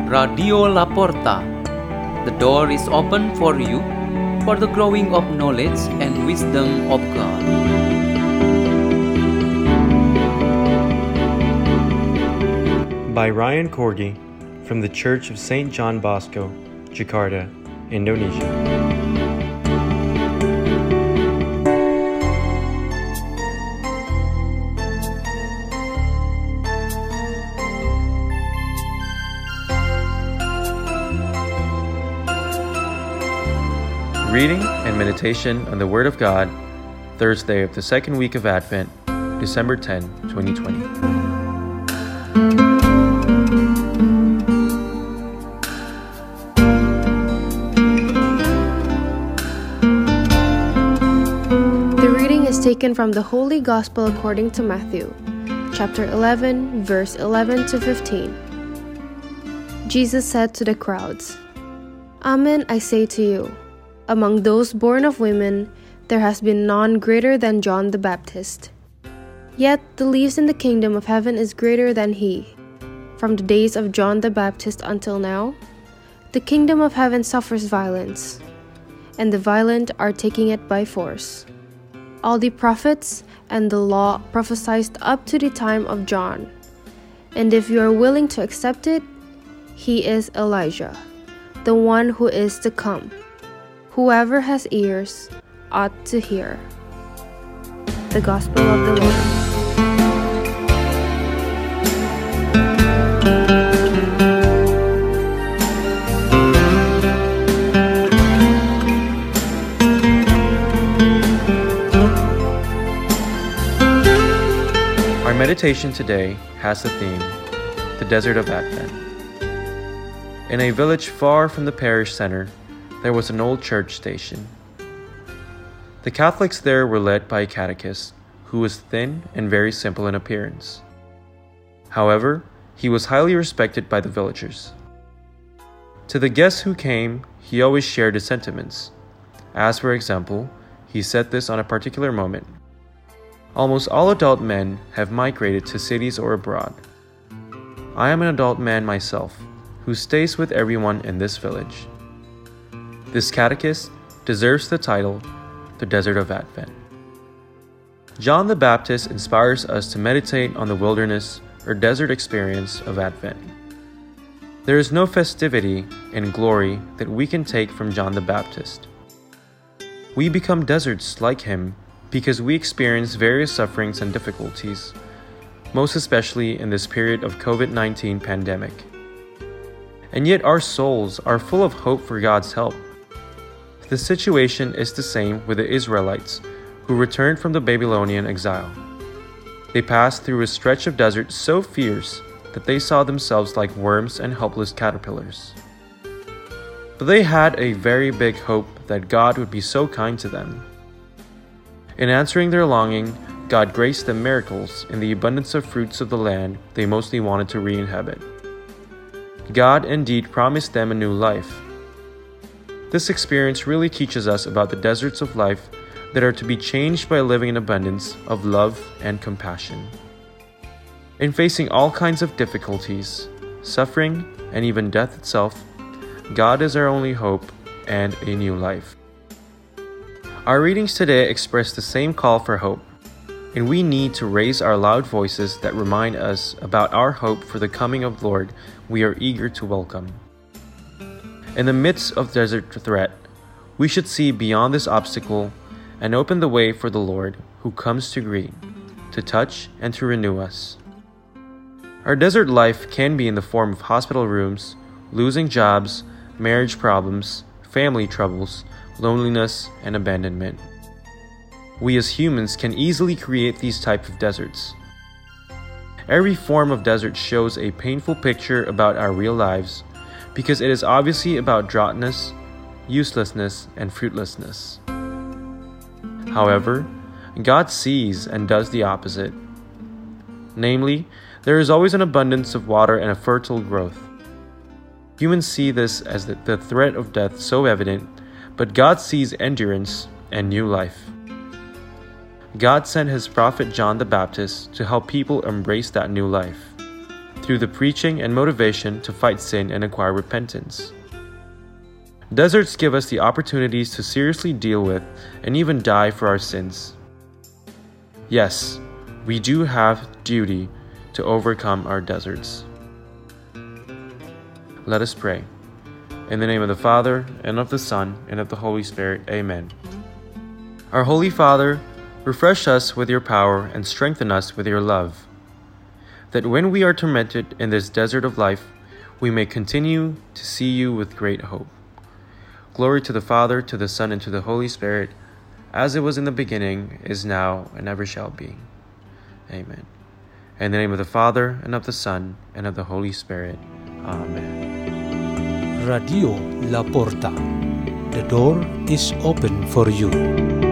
Radio La Porta. The door is open for you for the growing of knowledge and wisdom of God. By Ryan Corgi from the Church of St. John Bosco, Jakarta, Indonesia. Reading and meditation on the Word of God, Thursday of the second week of Advent, December 10, 2020. The reading is taken from the Holy Gospel according to Matthew, chapter 11, verse 11 to 15. Jesus said to the crowds, "Amen, I say to you, among those born of women, there has been none greater than John the Baptist. Yet the least in the kingdom of heaven is greater than he. From the days of John the Baptist until now, the kingdom of heaven suffers violence, and the violent are taking it by force. All the prophets and the law prophesied up to the time of John, and if you are willing to accept it, he is Elijah, the one who is to come. Whoever has ears ought to hear." The Gospel of the Lord. Our meditation today has the theme, the Desert of Advent. In a village far from the parish center, there was an old church station. The Catholics there were led by a catechist who was thin and very simple in appearance. However, he was highly respected by the villagers. To the guests who came, he always shared his sentiments. As for example, he said this on a particular moment: "Almost all adult men have migrated to cities or abroad. I am an adult man myself, who stays with everyone in this village." This catechist deserves the title, the Desert of Advent. John the Baptist inspires us to meditate on the wilderness or desert experience of Advent. There is no festivity and glory that we can take from John the Baptist. We become deserts like him because we experience various sufferings and difficulties, most especially in this period of COVID-19 pandemic. And yet our souls are full of hope for God's help. The situation is the same with the Israelites who returned from the Babylonian exile. They passed through a stretch of desert so fierce that they saw themselves like worms and helpless caterpillars. But they had a very big hope that God would be so kind to them. In answering their longing, God graced them miracles in the abundance of fruits of the land they mostly wanted to re-inhabit. God indeed promised them a new life. This experience really teaches us about the deserts of life that are to be changed by living in abundance of love and compassion. In facing all kinds of difficulties, suffering, and even death itself, God is our only hope and a new life. Our readings today express the same call for hope, and we need to raise our loud voices that remind us about our hope for the coming of the Lord we are eager to welcome. In the midst of desert threat, we should see beyond this obstacle and open the way for the Lord who comes to greet, to touch, and to renew us. Our desert life can be in the form of hospital rooms, losing jobs, marriage problems, family troubles, loneliness, and abandonment. We as humans can easily create these types of deserts. Every form of desert shows a painful picture about our real lives, because it is obviously about dryness, uselessness, and fruitlessness. However, God sees and does the opposite. Namely, there is always an abundance of water and a fertile growth. Humans see this as the threat of death so evident, but God sees endurance and new life. God sent his prophet John the Baptist to help people embrace that new life. through the preaching and motivation to fight sin and acquire repentance. Deserts give us the opportunities to seriously deal with and even die for our sins. Yes, we do have duty to overcome our deserts. Let us pray. In the name of the Father, and of the Son, and of the Holy Spirit. Amen. Our Holy Father, refresh us with your power and strengthen us with your love, that when we are tormented in this desert of life, we may continue to see you with great hope. Glory to the Father, to the Son, and to the Holy Spirit, as it was in the beginning, is now, and ever shall be. Amen. In the name of the Father, and of the Son, and of the Holy Spirit. Amen. Radio La Porta. The door is open for you.